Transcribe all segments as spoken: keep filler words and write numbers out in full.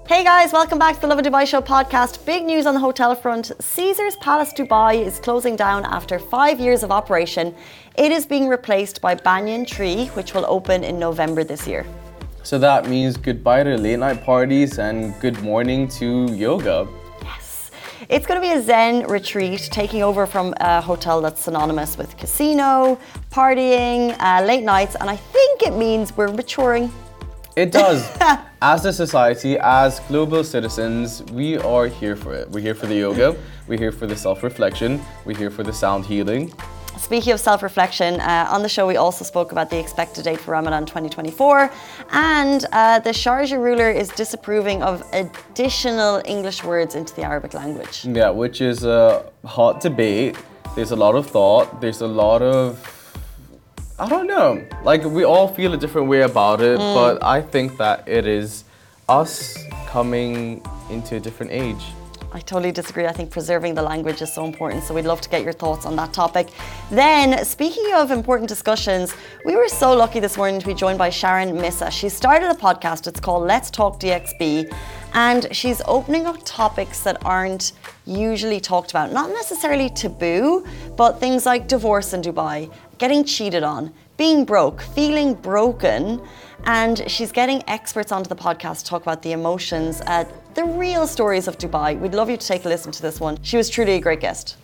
Hey guys, welcome back to the Love in Dubai Show podcast. Big news on the hotel front. Caesars Palace Dubai is closing down after five years of operation. It is being replaced by Banyan Tree, which will open in November this year. So that means goodbye to late night parties and good morning to yoga. Yes. It's going to be a Zen retreat, taking over from a hotel that's synonymous with casino, partying, uh, late nights, and I think it means we're maturing. It does. As a society, as global citizens, we are here for it. We're here for the yoga, we're here for the self-reflection, we're here for the sound healing. Speaking of self-reflection, uh, on the show we also spoke about the expected date for Ramadan twenty twenty-four, and uh, the Sharjah ruler is disapproving of additional English words into the Arabic language. Yeah, which is a hot debate. There's a lot of thought, there's a lot of, I don't know, like we all feel a different way about it, mm. but I think that it is us coming into a different age. I totally disagree. I think preserving the language is so important, so we'd love to get your thoughts on that topic. Then, speaking of important discussions, we were so lucky this morning to be joined by Sharon Missa. She started a podcast, it's called Let's Talk D X B, and she's opening up topics that aren't usually talked about. Not necessarily taboo, but things like divorce in Dubai, getting cheated on, being broke, feeling broken, and she's getting experts onto the podcast to talk about the emotions, uh, the real stories of Dubai. We'd love you to take a listen to this one. She was truly a great guest.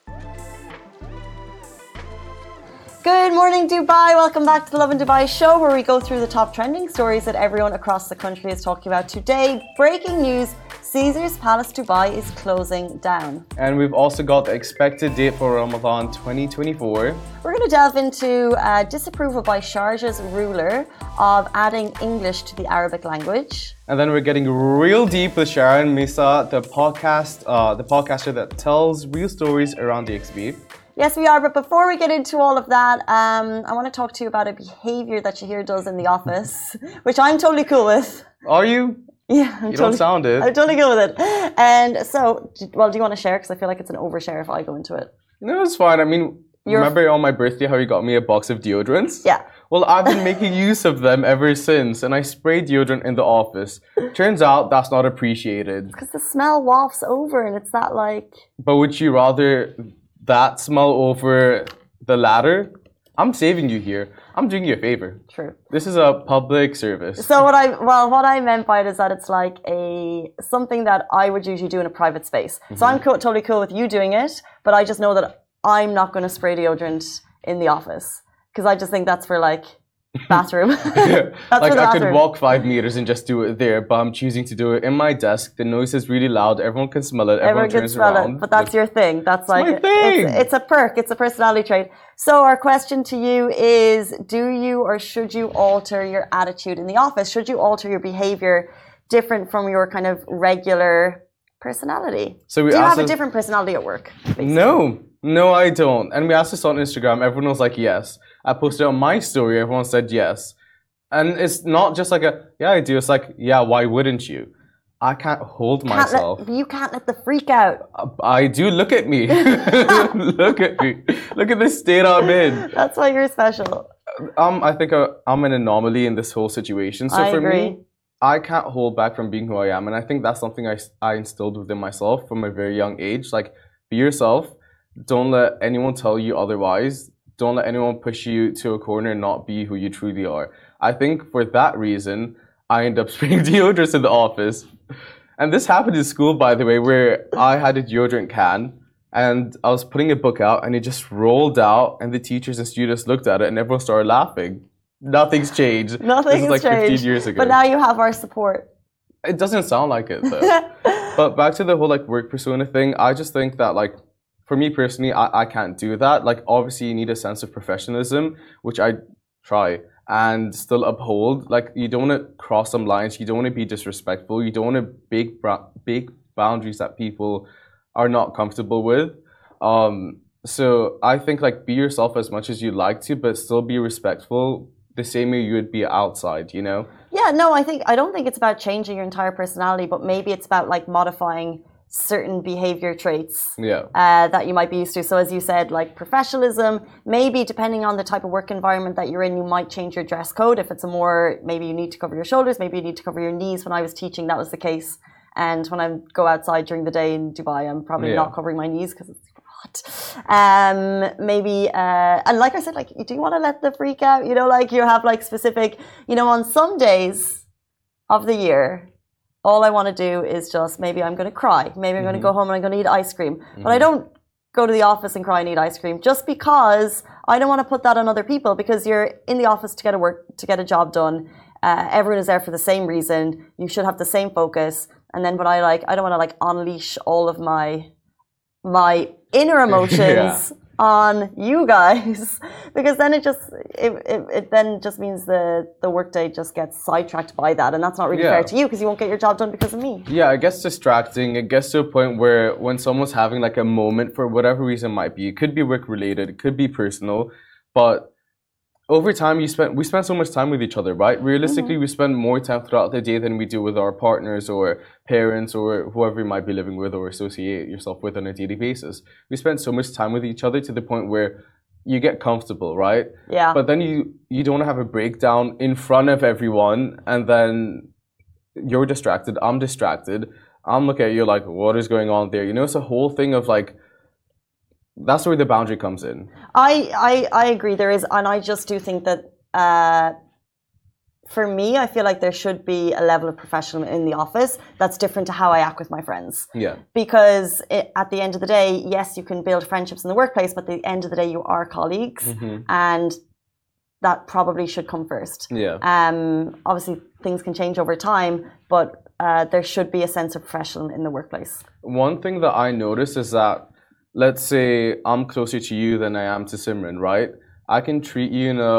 Good morning, Dubai. Welcome back to the Love in Dubai show, where we go through the top trending stories that everyone across the country is talking about today. Breaking news, Caesars Palace Dubai is closing down. And we've also got the expected date for Ramadan twenty twenty-four. We're going to delve into uh, disapproval by Sharjah's ruler of adding English to the Arabic language. And then we're getting real deep with Sharon Missa, the podcast, uh, the podcaster that tells real stories around D X B. Yes, we are. But before we get into all of that, um, I want to talk to you about a behavior that Shahir does in the office, which I'm totally cool with. Are you? Yeah, I'm you totally, don't sound it. I'm totally good with it. And so, well, do you want to share? Because I feel like it's an overshare if I go into it. No, it's fine. I mean, You're remember on my birthday how you got me a box of deodorants? Yeah. Well, I've been making use of them ever since, and I spray deodorant in the office. Turns out that's not appreciated. Because the smell wafts over, and it's that like... But would you rather that smell over the latter? I'm saving you here. I'm doing you a favor. True. This is a public service. So what I well, what I meant by it is that it's like a something that I would usually do in a private space. Mm-hmm. So I'm co- totally cool with you doing it, but I just know that I'm not going to spray deodorant in the office because I just think that's for like bathroom. That's like I could walk five meters and just do it there, but I'm choosing to do it in my desk. The noise is really loud. Everyone can smell it. Everyone, Everyone can turns smell around. it, but that's your thing. That's like my thing. It's, it's a perk. It's a personality trait. So our question to you is: do you or should you alter your attitude in the office? Should you alter your behavior different from your kind of regular personality? So we do you have a us, different personality at work? Basically? No. No, I don't. And we asked this on Instagram. Everyone was like, yes. I posted on my story. Everyone said yes. And it's not just like a, yeah, I do. It's like, yeah, why wouldn't you? I can't hold can't myself. Let, you can't let the freak out. I do. Look at me. Look at me. Look at the state I'm in. That's why you're special. Um, I think I'm an anomaly in this whole situation. So I for agree. me, I can't hold back from being who I am. And I think that's something I, I instilled within myself from a very young age. Like, be yourself. Don't let anyone tell you otherwise. Don't let anyone push you to a corner and not be who you truly are. I think for that reason, I end up spraying deodorants in the office. And this happened in school, by the way, where I had a deodorant can and I was putting a book out and it just rolled out and the teachers and students looked at it and everyone started laughing. Nothing's changed. Nothing's this is like changed. fifteen years ago. But now you have our support. It doesn't sound like it though. But back to the whole like work persona thing, I just think that like, for me personally, I, I can't do that. Like, obviously, you need a sense of professionalism, which I try and still uphold. Like, you don't want to cross some lines. You don't want to be disrespectful. You don't want to break big boundaries that people are not comfortable with. Um, so I think like be yourself as much as you like to, but still be respectful the same way you would be outside, you know? Yeah, no, I think I don't think it's about changing your entire personality, but maybe it's about like modifying certain behavior traits yeah. uh, that you might be used to. So as you said, like professionalism, maybe depending on the type of work environment that you're in, you might change your dress code. If it's a more, maybe you need to cover your shoulders, maybe you need to cover your knees. When I was teaching, that was the case. And when I go outside during the day in Dubai, I'm probably Yeah. not covering my knees because it's hot. Um, maybe, uh, and like I said, like, do you want to let the freak out? You know, like you have like specific, you know, on some days of the year, all I want to do is just maybe I'm going to cry. Maybe I'm going to go home and I'm going to eat ice cream. Mm-hmm. But I don't go to the office and cry and eat ice cream just because I don't want to put that on other people, because you're in the office to get a work, to get a job done. Uh, everyone is there for the same reason. You should have the same focus. And then when I like, I don't want to like unleash all of my, my inner emotions yeah. on you guys, because then it just it, it, it then just means the the workday just gets sidetracked by that, and that's not really yeah. fair to you because you won't get your job done because of me. Yeah, it gets distracting. It gets to a point where when someone's having like a moment for whatever reason it might be, it could be work related, it could be personal, but over time you spend we spend so much time with each other, right? Realistically, mm-hmm. we spend more time throughout the day than we do with our partners or parents or whoever you might be living with or associate yourself with on a daily basis. We spend so much time with each other to the point where you get comfortable, right? Yeah. But then you you don't have a breakdown in front of everyone, and then you're distracted, I'm distracted, I'm looking at you like, what is going on there? You know, it's a whole thing of like, that's where the boundary comes in. I, I, I agree there is, and I just do think that uh, for me, I feel like there should be a level of professionalism in the office that's different to how I act with my friends. Yeah. Because it, at the end of the day, yes, you can build friendships in the workplace, but at the end of the day, you are colleagues, mm-hmm. and that probably should come first. Yeah. Um. Obviously, things can change over time, but uh, there should be a sense of professionalism in the workplace. One thing that I noticed is that, let's say I'm closer to you than I am to Simran, right? I can treat you in a...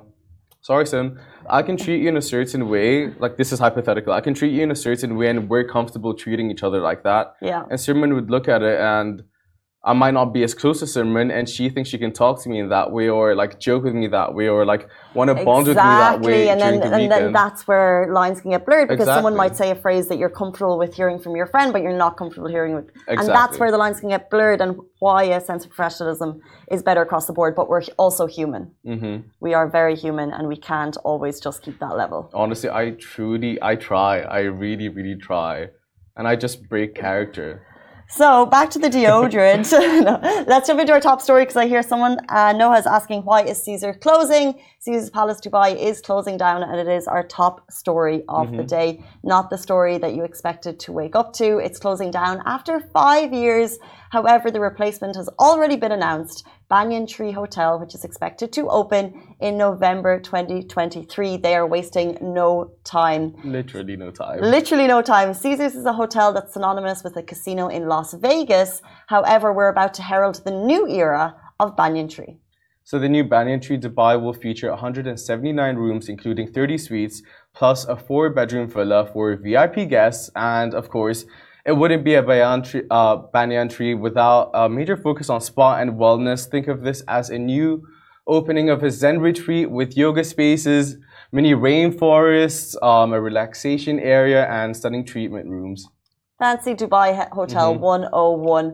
Sorry, Sim. I can treat you in a certain way, like this is hypothetical. I can treat you in a certain way and we're comfortable treating each other like that. Yeah. And Simran would look at it and I might not be as close to Simran and she thinks she can talk to me in that way or like joke with me that way or like want to bond exactly. with me that way and during then, the weekend. And then that's where lines can get blurred because exactly. someone might say a phrase that you're comfortable with hearing from your friend but you're not comfortable hearing with. Exactly. And that's where the lines can get blurred and why a sense of professionalism is better across the board, but we're also human. Mm-hmm. We are very human and we can't always just keep that level. Honestly, I truly, I try. I really, really try. And I just break character. So back to the deodorant. No, let's jump into our top story because I hear someone, uh, Noah, is asking why is Caesar closing? Caesar's Palace Dubai is closing down and it is our top story of mm-hmm. the day. Not the story that you expected to wake up to. It's closing down after five years. However, the replacement has already been announced. Banyan Tree Hotel, which is expected to open in November twenty twenty-three. They are wasting no time. Literally no time. Literally no time. Caesars is a hotel that's synonymous with a casino in Las Vegas. However, we're about to herald the new era of Banyan Tree. So the new Banyan Tree Dubai will feature one hundred seventy-nine rooms, including thirty suites, plus a four-bedroom villa for V I P guests. And of course, it wouldn't be a Banyan Tree, uh, Banyan Tree without a major focus on spa and wellness. Think of this as a new opening of a Zen retreat with yoga spaces, mini rainforests, um, a relaxation area, and stunning treatment rooms. Fancy Dubai Hotel mm-hmm. one oh one.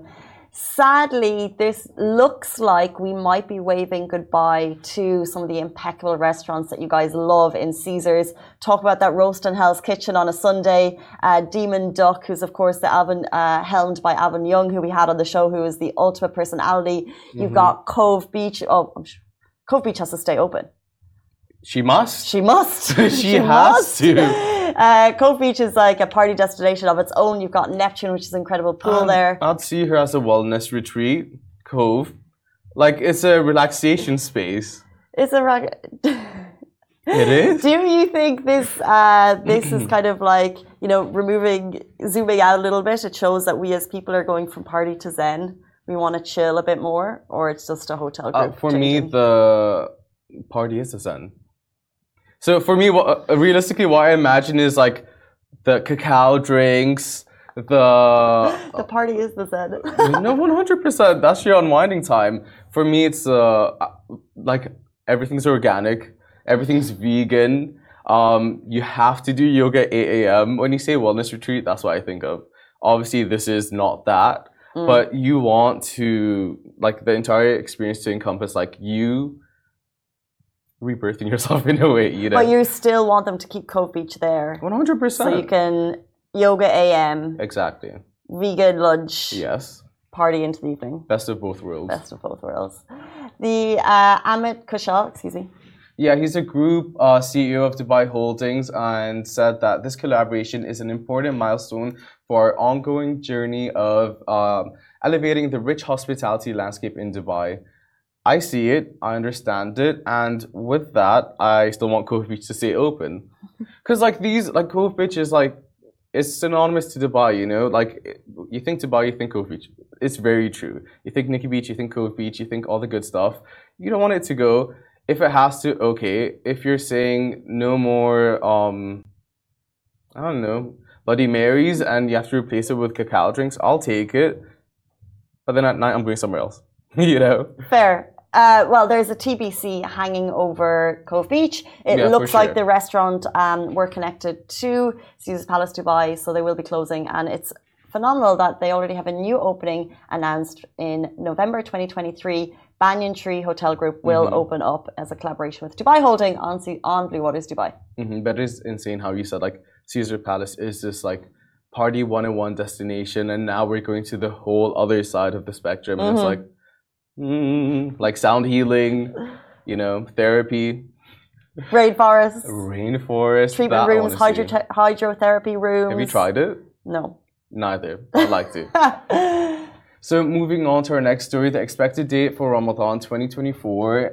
Sadly, this looks like we might be waving goodbye to some of the impeccable restaurants that you guys love in Caesars. Talk about that roast in Hell's Kitchen on a Sunday. Uh, Demon Duck, who's of course the Alvin, uh, helmed by Alvin Young, who we had on the show, who is the ultimate personality. Mm-hmm. You've got Cove Beach. Oh, I'm sure. Cove Beach has to stay open. She must. She must. she, she has must. to. Uh, Cove Beach is like a party destination of its own. You've got Neptune, which is an incredible pool um, there. I'd see her as a wellness retreat, Cove. Like, it's a relaxation space. It's a... It is? Do you think this uh, this is kind of like, you know, removing, zooming out a little bit, it shows that we as people are going from party to zen? We want to chill a bit more? Or it's just a hotel group? Uh, for changing? me, the party is the zen. So for me, what, uh, realistically, what I imagine is like the cacao drinks, the... the party is the zen. No, one hundred percent. That's your unwinding time. For me, it's uh, like everything's organic, everything's vegan. Um, you have to do yoga at eight a.m. When you say wellness retreat, that's what I think of. Obviously, this is not that. Mm. But you want to, like, the entire experience to encompass, like, you... rebirthing yourself in a way, you know. But you still want them to keep Cove Beach there. one hundred percent. So you can Yoga A M. Exactly. Vegan lunch. Yes. Party into the evening. Best of both worlds. Best of both worlds. The uh, Amit Kushal, excuse me. Yeah, he's a group uh, C E O of Dubai Holdings and said that this collaboration is an important milestone for our ongoing journey of um, elevating the rich hospitality landscape in Dubai. I see it, I understand it, and with that, I still want Cove Beach to stay open. Because like these, like Cove Beach is like, it's synonymous to Dubai, you know? Like, you think Dubai, you think Cove Beach. It's very true. You think Nikki Beach, you think Cove Beach, you think all the good stuff. You don't want it to go. If it has to, okay. If you're saying no more, um, I don't know, Bloody Marys and you have to replace it with cacao drinks, I'll take it. But then at night, I'm going somewhere else, you know? Fair. Uh, well, there's a T B C hanging over Cove Beach. It Yeah, looks for like sure. the restaurant um, we're connected to Caesar's Palace Dubai, so they will be closing. And it's phenomenal that they already have a new opening announced in November twenty twenty-three. Banyan Tree Hotel Group will Mm-hmm. open up as a collaboration with Dubai Holding on, C- on Blue Waters Dubai. Mm-hmm. But it is insane how you said like Caesar Palace is this like party one oh one destination, and now we're going to the whole other side of the spectrum, and Mhm. it's like, mm, like sound healing, you know, therapy, Rainforests, rainforest, treatment that I rooms, wanna see. hydro- hydrotherapy rooms. Have you tried it? No. Neither. I'd like to. So moving on to our next story, the expected date for Ramadan twenty twenty-four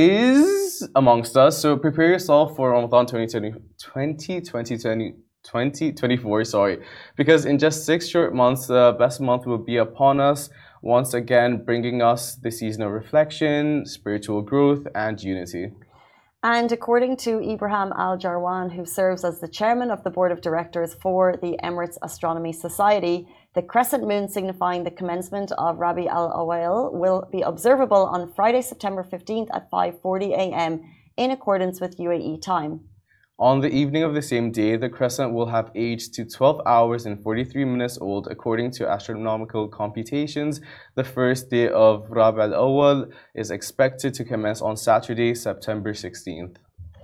is amongst us. So prepare yourself for Ramadan twenty twenty, twenty twenty, twenty twenty-four, sorry, because in just six short months, the best month will be upon us, once again bringing us the season of reflection, spiritual growth, and unity. And according to Ibrahim Al Jarwan, who serves as the chairman of the board of directors for the Emirates Astronomy Society, the crescent moon signifying the commencement of Rabi al Awal will be observable on Friday, September fifteenth at five forty a m in accordance with U A E time. On the evening of the same day, the crescent will have aged to twelve hours and forty-three minutes old according to astronomical computations. The first day of Rab al-Awwal is expected to commence on Saturday, September sixteenth.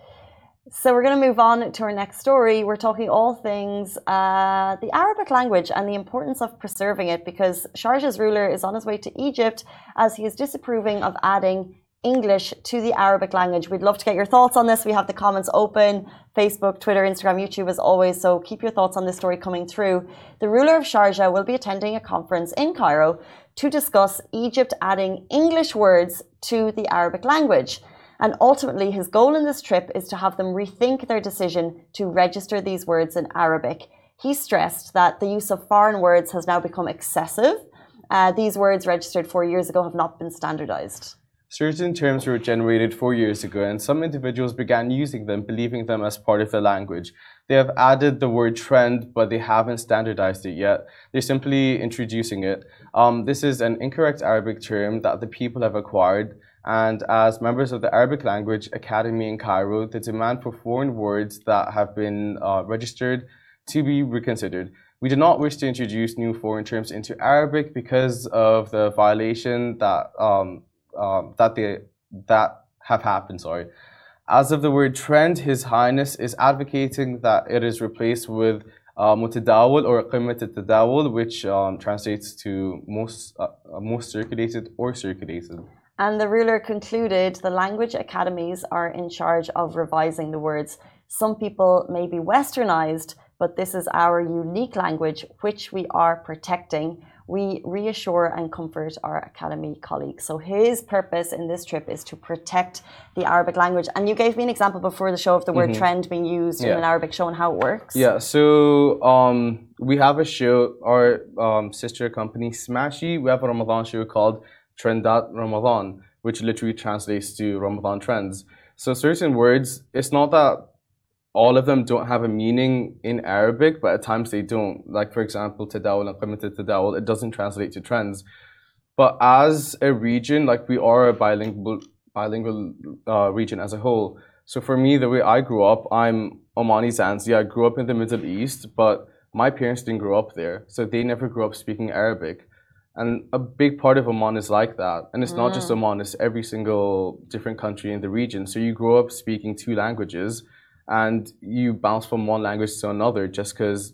So we're going to move on to our next story. We're talking all things uh, the Arabic language and the importance of preserving it, because Sharjah's ruler is on his way to Egypt as he is disapproving of adding English to the Arabic language. We'd love to get your thoughts on this. We have the comments open, Facebook, Twitter, Instagram, YouTube as always, so keep your thoughts on this story coming through. The ruler of Sharjah will be attending a conference in Cairo to discuss Egypt adding English words to the Arabic language. And ultimately, his goal in this trip is to have them rethink their decision to register these words in Arabic. He stressed that the use of foreign words has now become excessive. Uh, these words registered four years ago have not been standardized. Certain terms were generated four years ago, and some individuals began using them, believing them as part of the language. They have added the word trend, but they haven't standardized it yet. They're simply introducing it. Um, this is an incorrect Arabic term that the people have acquired, and as members of the Arabic Language Academy in Cairo, the demand for foreign words that have been uh, registered to be reconsidered. We do not wish to introduce new foreign terms into Arabic because of the violation that um, Um, that they that have happened. Sorry. As of the word trend, His Highness is advocating that it is replaced with uh, mutadawul or qimmat al-tadawul, which um, translates to most uh, most circulated or circulated. And the ruler concluded the language academies are in charge of revising the words. Some people may be westernized, but this is our unique language, which we are protecting. We reassure and comfort our academy colleagues. So his purpose in this trip is to protect the Arabic language. And you gave me an example before the show of the word Mm-hmm. trend being used Yeah. in an Arabic show and how it works. Yeah, so um, we have a show, our um, sister company Smashy, we have a Ramadan show called Trendat Ramadan, which literally translates to Ramadan trends. So certain words, it's not that all of them don't have a meaning in Arabic, but at times they don't. Like, for example, tadawul and qimmat al-tadawul, it doesn't translate to trends. But as a region, like we are a bilingual, bilingual uh, region as a whole. So for me, the way I grew up, I'm Omani Zanzi. I grew up in the Middle East, but my parents didn't grow up there. So they never grew up speaking Arabic. And a big part of Oman is like that. And it's not just Oman, it's every single different country in the region. So you grow up speaking two languages, and you bounce from one language to another just because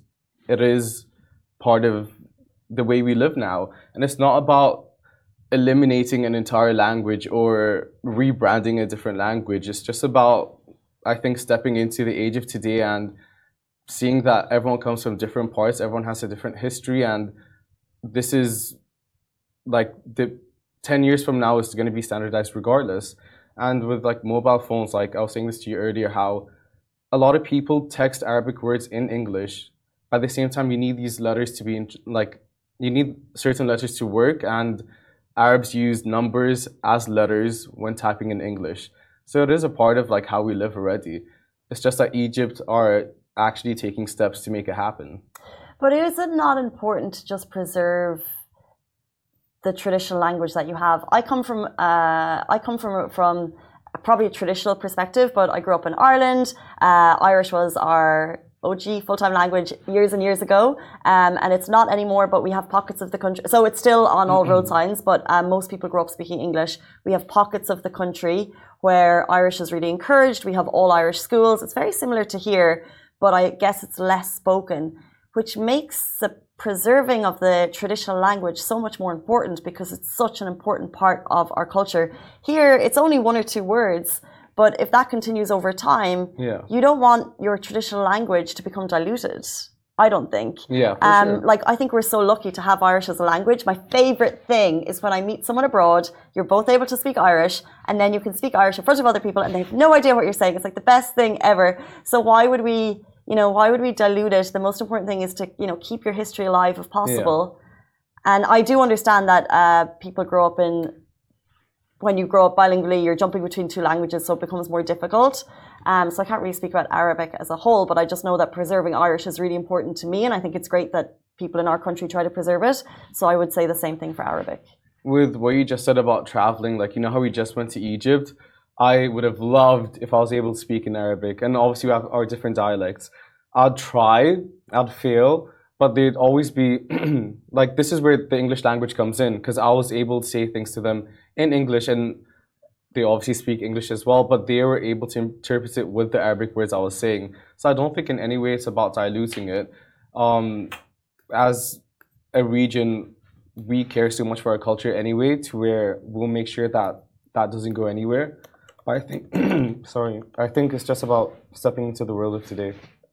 it is part of the way we live now. And it's not about eliminating an entire language or rebranding a different language. It's just about, I think, stepping into the age of today and seeing that everyone comes from different parts, everyone has a different history, and this is like the ten years from now is going to be standardized regardless. And with like mobile phones, like I was saying this to you earlier, how a lot of people text Arabic words in English. At the same time, you need these letters to be in, like, you need certain letters to work, and Arabs use numbers as letters when typing in English. So it is a part of like how we live already. It's just that Egypt are actually taking steps to make it happen. But is it not important to just preserve the traditional language that you have? I come from uh, I come from from probably a traditional perspective, but I grew up in Ireland. Uh, Irish was our O G full-time language years and years ago, um, and it's not anymore, but we have pockets of the country. So it's still on all road signs, but um, most people grow up speaking English. We have pockets of the country where Irish is really encouraged. We have all Irish schools. It's very similar to here, but I guess it's less spoken, which makes the preserving of the traditional language so much more important because it's such an important part of our culture. Here, it's only one or two words, but if that continues over time, yeah. you don't want your traditional language to become diluted. I don't think. Yeah, for um, sure. Like, I think we're so lucky to have Irish as a language. My favorite thing is when I meet someone abroad, you're both able to speak Irish, and then you can speak Irish in front of other people, and they have no idea what you're saying. It's like the best thing ever. So why would we, you know, why would we dilute it? The most important thing is to, you know, keep your history alive if possible. Yeah. And I do understand that uh, people grow up in, when you grow up bilingually, you're jumping between two languages, so it becomes more difficult. Um, so I can't really speak about Arabic as a whole, but I just know that preserving Irish is really important to me, and I think it's great that people in our country try to preserve it. So I would say the same thing for Arabic. With what you just said about traveling, like, you know how we just went to Egypt? I would have loved if I was able to speak in Arabic, and obviously we have our different dialects. I'd try, I'd fail, but they'd always be, like, this is where the English language comes in, because I was able to say things to them in English, and they obviously speak English as well, but they were able to interpret it with the Arabic words I was saying. So I don't think in any way it's about diluting it. Um, as a region, we care so much for our culture anyway, to where we'll make sure that that doesn't go anywhere. But I think, sorry, I think it's just about stepping into the world of today.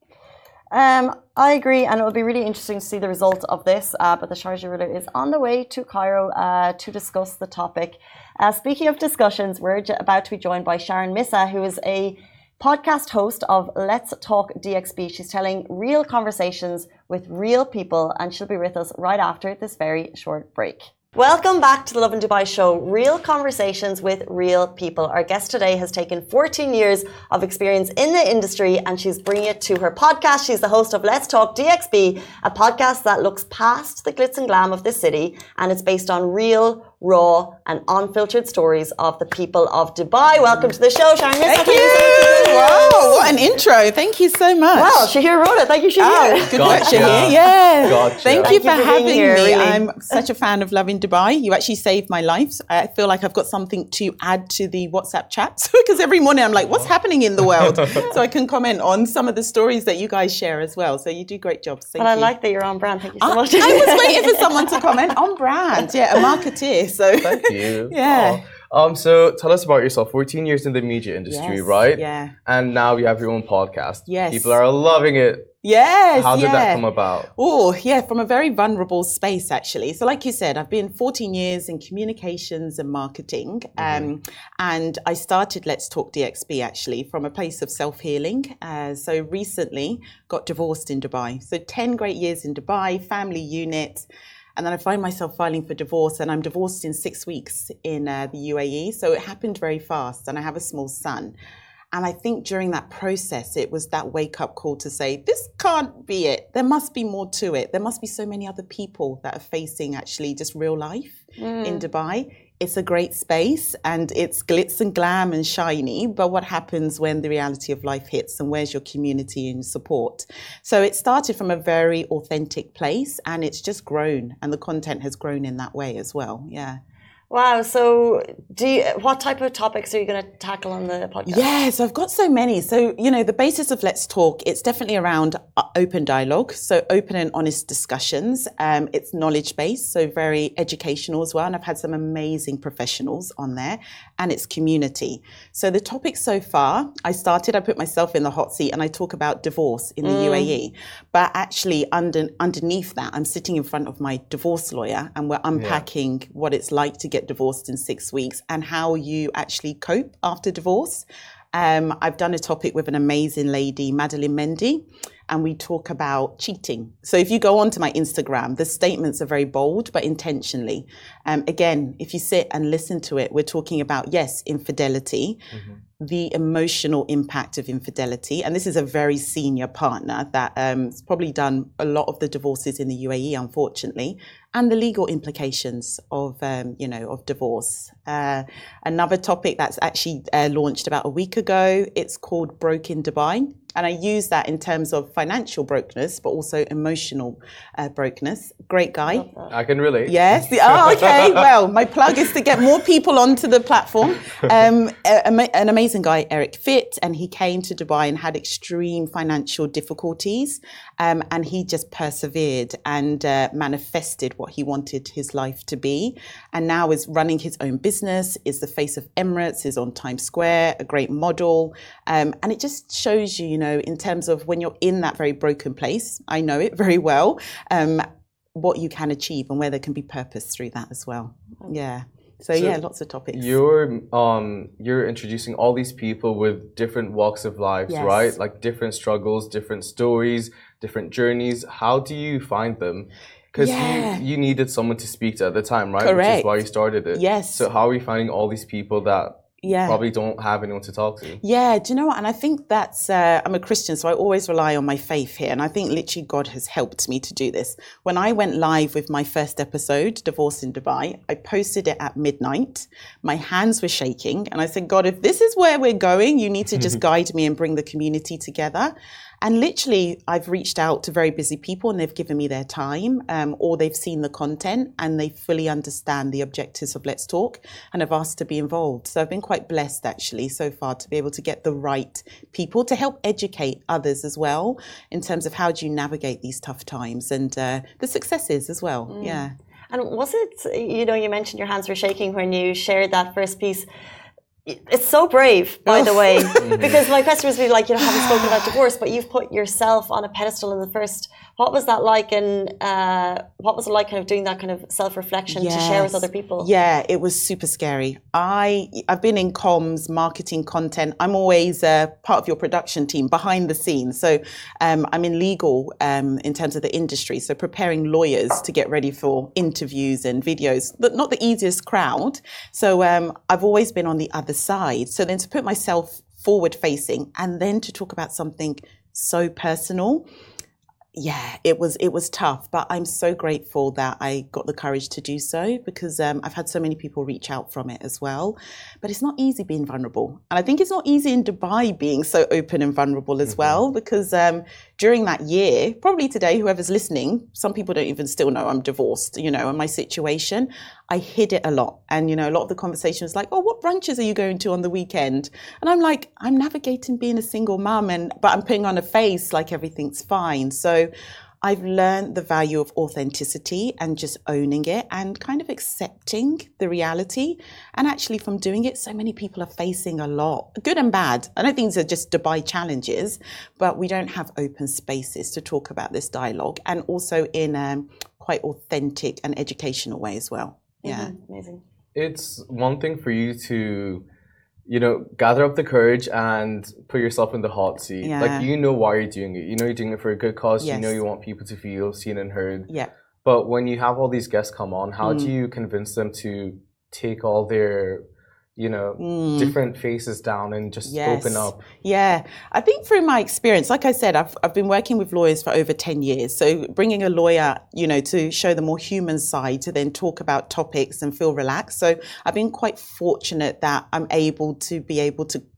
Um, I agree, and it will be really interesting to see the result of this. Uh, but the Sharjah ruler is on the way to Cairo uh, to discuss the topic. Uh, speaking of discussions, we're j- about to be joined by Sharon Missa, who is a podcast host of Let's Talk D X B. She's telling real conversations with real people, and she'll be with us right after this very short break. Welcome back to the Lovin Dubai show, real conversations with real people. Our guest today has taken fourteen years of experience in the industry, and she's bringing it to her podcast. She's the host of Let's Talk D X B, a podcast that looks past the glitz and glam of the city, and it's based on real, raw and unfiltered stories of the people of Dubai. Welcome to the show, Sharon Missa. Thank you. Wow, what an intro. Thank you so much. Well, Shahir wrote it. Thank you, Shahir. Oh, good work, Shahir. Yeah. Gotcha. Thank, Thank you you for, for having being here, me. really. I'm such a fan of Lovin Dubai. You actually saved my life. I feel like I've got something to add to the WhatsApp chats because every morning I'm like, what's happening in the world? So I can comment on some of the stories that you guys share as well. So you do great jobs. Thank But I you. like that you're on brand. Thank you so I, much. I was waiting for someone to comment on brand. Yeah, a marketeer. So Thank you. Yeah. Oh. Um, so tell us about yourself. fourteen years in the media industry, Yes, right? yeah. And now you have your own podcast. Yes. People are loving it. Yes. How did yeah. that come about? Oh, yeah, from a very vulnerable space, actually. So like you said, I've been fourteen years in communications and marketing. Mm-hmm. Um, and I started Let's Talk D X B, actually, from a place of self-healing. Uh, so recently got divorced in Dubai. So ten great years in Dubai, family unit. And then I find myself filing for divorce, and I'm divorced in six weeks in uh, the U A E. So it happened very fast, and I have a small son. And I think during that process, it was that wake-up call to say, this can't be it. There must be more to it. There must be so many other people that are facing actually just real life mm. in Dubai. It's a great space, and it's glitz and glam and shiny, but what happens when the reality of life hits, and where's your community and support? So it started from a very authentic place, and it's just grown, and the content has grown in that way as well. Yeah. Wow. So, do you, what type of topics are you going to tackle on the podcast? Yes, I've got so many. So, you know, the basis of Let's Talk, it's definitely around open dialogue. So open and honest discussions. Um, it's knowledge based, so very educational as well. And I've had some amazing professionals on there, and it's community. So the topic so far, I started, I put myself in the hot seat and I talk about divorce in the mm. U A E. But actually under, underneath that, I'm sitting in front of my divorce lawyer and we're unpacking yeah. what it's like to get divorced in six weeks and how you actually cope after divorce. Um, I've done a topic with an amazing lady, Madeline Mendy, and we talk about cheating. So if you go onto my Instagram, the statements are very bold, but intentionally. Um, again, if you sit and listen to it, we're talking about, yes, infidelity, mm-hmm. the emotional impact of infidelity. And this is a very senior partner that um, has probably done a lot of the divorces in the U A E, unfortunately, and the legal implications of, um, you know, of divorce. Uh, another topic that's actually uh, launched about a week ago, it's called Broke in Dubai. And I use that in terms of financial brokenness, but also emotional uh, brokenness. Great guy. I can relate. Yes. Oh, okay. Well, my plug is to get more people onto the platform. Um, a, a, an amazing guy, Eric Fitt, and he came to Dubai and had extreme financial difficulties. Um, and he just persevered and uh, manifested what he wanted his life to be. And now is running his own business, is the face of Emirates, is on Times Square, a great model. Um, and it just shows you, you know, in terms of when you're in that very broken place, I know it very well, um, what you can achieve and where there can be purpose through that as well. Yeah. So, so yeah, lots of topics. You're um you're introducing all these people with different walks of lives, yes. right? Like different struggles, different stories, different journeys. How do you find them? Because yeah. you, you needed someone to speak to at the time, right? Correct. Which is why you started it. Yes. So how are we finding all these people that yeah. probably don't have anyone to talk to? Yeah, do you know what? And I think that's, uh, I'm a Christian, so I always rely on my faith here. And I think literally God has helped me to do this. When I went live with my first episode, Divorce in Dubai, I posted it at midnight. My hands were shaking. And I said, God, if this is where we're going, you need to just guide me and bring the community together. And literally, I've reached out to very busy people and they've given me their time, um, or they've seen the content and they fully understand the objectives of Let's Talk and have asked to be involved. So I've been quite blessed actually so far to be able to get the right people to help educate others as well in terms of how do you navigate these tough times and uh, the successes as well. Mm. Yeah. And was it, you know, you mentioned your hands were shaking when you shared that first piece. It's so brave, by the way, because my question was really like, you know, haven't spoken about divorce, but you've put yourself on a pedestal in the first. What was that like, and uh, what was it like kind of doing that kind of self-reflection yes. to share with other people? Yeah, it was super scary. I, I've been in comms, marketing, content. I'm always uh, part of your production team, behind the scenes. So um, I'm in legal um, in terms of the industry, so preparing lawyers to get ready for interviews and videos, but not the easiest crowd. So um, I've always been on the other side. So then to put myself forward facing and then to talk about something so personal, yeah, it was it was tough, but I'm so grateful that I got the courage to do so because um, I've had so many people reach out from it as well. But it's not easy being vulnerable. And I think it's not easy in Dubai being so open and vulnerable as mm-hmm. well because um, during that year, probably today, whoever's listening, some people don't even still know I'm divorced, you know, and my situation. I hid it a lot. And, you know, a lot of the conversation was like, oh, what brunches are you going to on the weekend? And I'm like, I'm navigating being a single mum, and but I'm putting on a face like everything's fine. So I've learned the value of authenticity and just owning it and kind of accepting the reality. And actually from doing it, so many people are facing a lot, good and bad. I don't think these are just Dubai challenges, but we don't have open spaces to talk about this dialogue and also in a quite authentic and educational way as well. Yeah. Mm-hmm. Amazing. It's one thing for you to, you know, gather up the courage and put yourself in the hot seat. Yeah. Like, you know why you're doing it. You know you're doing it for a good cause. Yes. You know you want people to feel seen and heard. Yeah. But when you have all these guests come on, how Mm. do you convince them to take all their, you know, Mm. different faces down and just Yes. open up? Yeah, I think through my experience, like I said, I've I've been working with lawyers for over ten years. So bringing a lawyer, you know, to show the more human side, to then talk about topics and feel relaxed. So I've been quite fortunate that I'm able to be able to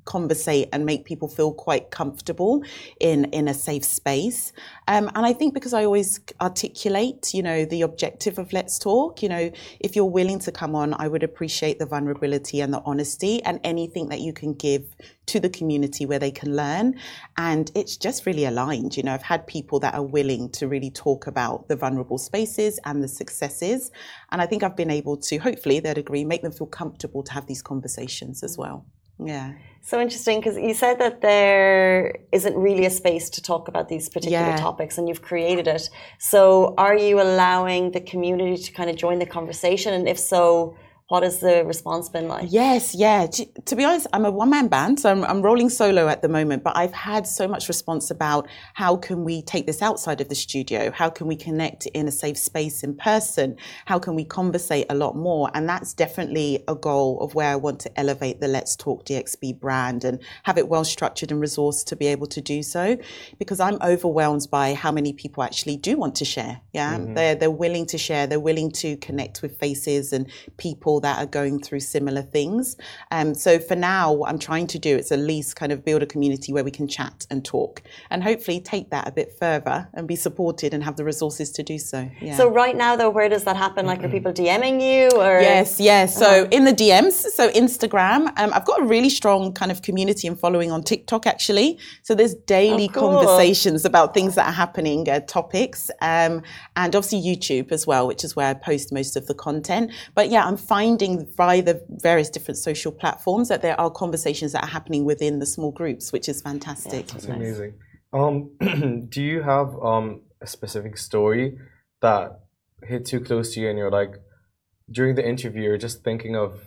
conversate and make people feel quite comfortable in, in a safe space. Um, and I think because I always articulate, you know, the objective of Let's Talk, you know, if you're willing to come on, I would appreciate the vulnerability and the honesty and anything that you can give to the community where they can learn. And it's just really aligned. You know, I've had people that are willing to really talk about the vulnerable spaces and the successes. And I think I've been able to, hopefully they'd agree, make them feel comfortable to have these conversations as well. Yeah. So interesting, because you said that there isn't really a space to talk about these particular Yeah. topics and you've created it. So are you allowing the community to kind of join the conversation? And if so, what has the response been like? Yes, yeah. To, to be honest, I'm a one-man band, so I'm, I'm rolling solo at the moment, but I've had so much response about how can we take this outside of the studio? How can we connect in a safe space in person? How can we conversate a lot more? And that's definitely a goal of where I want to elevate the Let's Talk D X B brand and have it well structured and resourced to be able to do so, because I'm overwhelmed by how many people actually do want to share. Yeah, mm-hmm. they're, they're willing to share, they're willing to connect with faces and people that are going through similar things. Um, so for now, what I'm trying to do is at least kind of build a community where we can chat and talk and hopefully take that a bit further and be supported and have the resources to do so. Yeah. So right now though, where does that happen? Like are people DMing you or? Yes, yes. So uh-huh. in the D Ms, so Instagram, um, I've got a really strong kind of community and following on TikTok actually. So there's daily oh, cool. conversations about things that are happening, uh, topics, um, and obviously YouTube as well, which is where I post most of the content. But yeah, I'm finding via the various different social platforms that there are conversations that are happening within the small groups, which is fantastic. Yeah, that's amazing. Um, do you have um, a specific story that hit too close to you and you're like, during the interview, you're just thinking of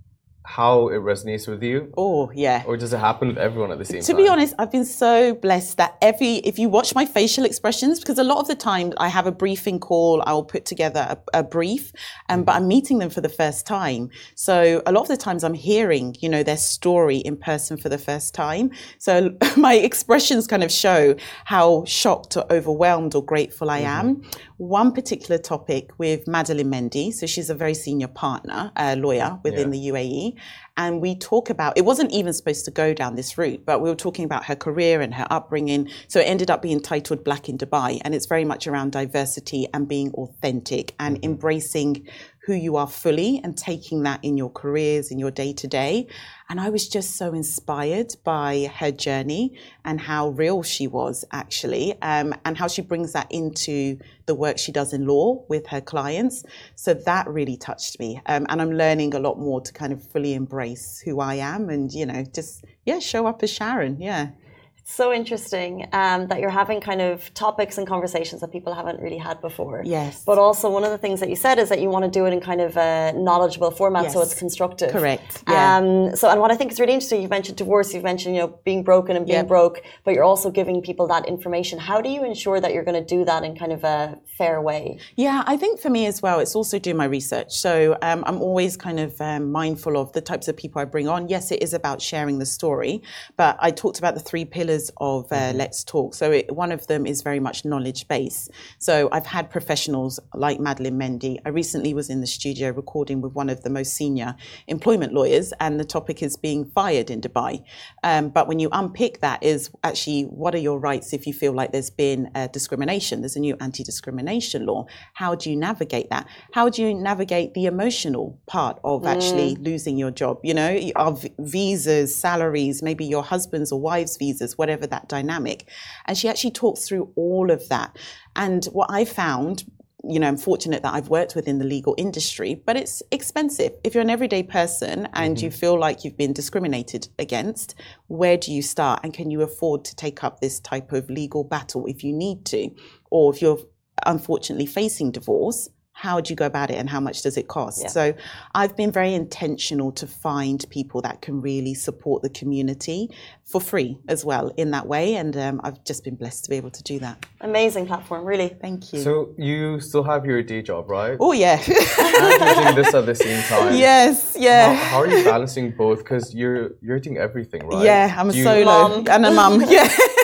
how it resonates with you? Oh, yeah. Or does it happen with everyone at the same to time? To be honest, I've been so blessed that every, if you watch my facial expressions, because a lot of the time I have a briefing call, I'll put together a, a brief, um, but I'm meeting them for the first time. So a lot of the times I'm hearing, you know, their story in person for the first time. So my expressions kind of show how shocked or overwhelmed or grateful I am. Mm-hmm. One particular topic with Madeline Mendy, so she's a very senior partner, uh, lawyer within yeah. the U A E. And we talk about, it wasn't even supposed to go down this route, but we were talking about her career and her upbringing. So it ended up being titled Black in Dubai. And it's very much around diversity and being authentic and mm-hmm. embracing who you are fully and taking that in your careers, in your day to day. And I was just so inspired by her journey and how real she was actually, um, and how she brings that into the work she does in law with her clients. So that really touched me. Um, and I'm learning a lot more to kind of fully embrace who I am and, you know, just, yeah, show up as Sharon. Yeah. So interesting um, that you're having kind of topics and conversations that people haven't really had before. Yes. But also one of the things that you said is that you want to do it in kind of a knowledgeable format, yes. so it's constructive. Correct. Yeah. Um, so, and what I think is really interesting, you've mentioned divorce, you've mentioned, you know, being broken and being yep. broke, but you're also giving people that information. How do you ensure that you're going to do that in kind of a fair way? Yeah, I think for me as well, it's also doing my research. So um, I'm always kind of um, mindful of the types of people I bring on. Yes, it is about sharing the story, but I talked about the three pillars of uh, Let's Talk. So it, one of them is very much knowledge based. So I've had professionals like Madeline Mendy. I recently was in the studio recording with one of the most senior employment lawyers, and the topic is being fired in Dubai. Um, but when you unpick that is actually, what are your rights if you feel like there's been uh, discrimination? There's a new anti-discrimination law. How do you navigate that? How do you navigate the emotional part of mm. actually losing your job? You know, of visas, salaries, maybe your husband's or wife's visas, whatever that dynamic. And she actually talks through all of that. And what I found, you know, I'm fortunate that I've worked within the legal industry, but it's expensive. If you're an everyday person and mm-hmm. you feel like you've been discriminated against, where do you start? And can you afford to take up this type of legal battle if you need to? Or if you're unfortunately facing divorce, how do you go about it and how much does it cost? Yeah. So I've been very intentional to find people that can really support the community for free as well in that way. And um, I've just been blessed to be able to do that. Amazing platform, really. Thank you. So you still have your day job, right? Oh, yeah. And you're doing this at the same time. Yes, yeah. How, how are you balancing both? Because you're, you're doing everything, right? Yeah, I'm a you, solo mom. and a mum. Yeah.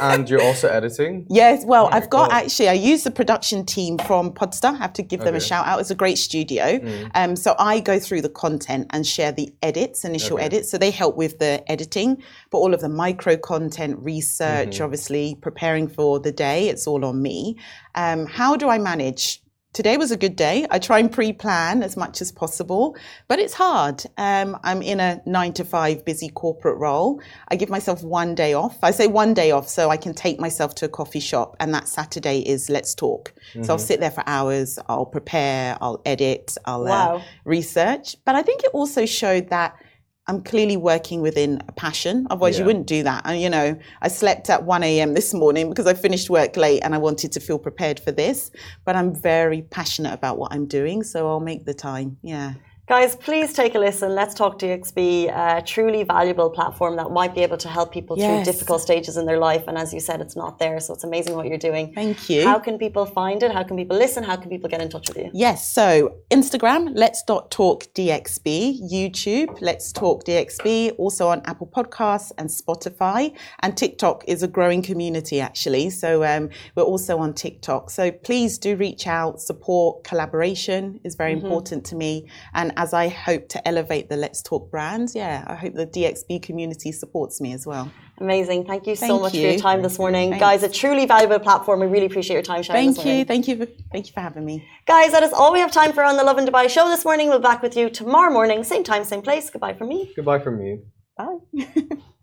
And you're also editing? Yes, well, Oh, I've got cool. actually, I use the production team from Podstar. I have to give them a Okay. shout out. It's a great studio. Mm. Um, so I go through the content and share the edits, initial Okay. edits. So they help with the editing, but all of the micro content, research, Mm-hmm. obviously preparing for the day, it's all on me. Um, how do I manage? Today was a good day. I try and pre-plan as much as possible, but it's hard. Um, I'm in a nine to five busy corporate role. I give myself one day off. I say one day off so I can take myself to a coffee shop, and that Saturday is Let's Talk. So I'll sit there for hours. I'll prepare. I'll edit. I'll Wow. uh, research. But I think it also showed that I'm clearly working within a passion. Otherwise, you Yeah. wouldn't do that. And, you know, I slept at one a.m. this morning because I finished work late and I wanted to feel prepared for this. But I'm very passionate about what I'm doing, so I'll make the time. Yeah. Guys, please take a listen. Let's Talk D X B, a truly valuable platform that might be able to help people through Yes. difficult stages in their life. And as you said, it's not there. So it's amazing what you're doing. Thank you. How can people find it? How can people listen? How can people get in touch with you? Yes, so Instagram, Let's Talk D X B, YouTube, Let's Talk D X B, also on Apple Podcasts and Spotify. And TikTok is a growing community, actually. So um, we're also on TikTok. So please do reach out. Support, collaboration is very Mm-hmm. important to me. And as I hope to elevate the Let's Talk brands, yeah, I hope the D X B community supports me as well. Amazing. Thank you so Thank much for you. your time this morning. Thanks. Guys, a truly valuable platform. We really appreciate your time, Sharon. this Thank you. morning. Thank you. For, thank you for having me. Guys, that is all we have time for on the Love in Dubai show this morning. We'll be back with you tomorrow morning, same time, same place. Goodbye from me. Goodbye from me. Bye.